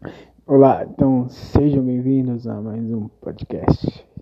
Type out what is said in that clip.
Olá, então sejam bem-vindos a mais um podcast.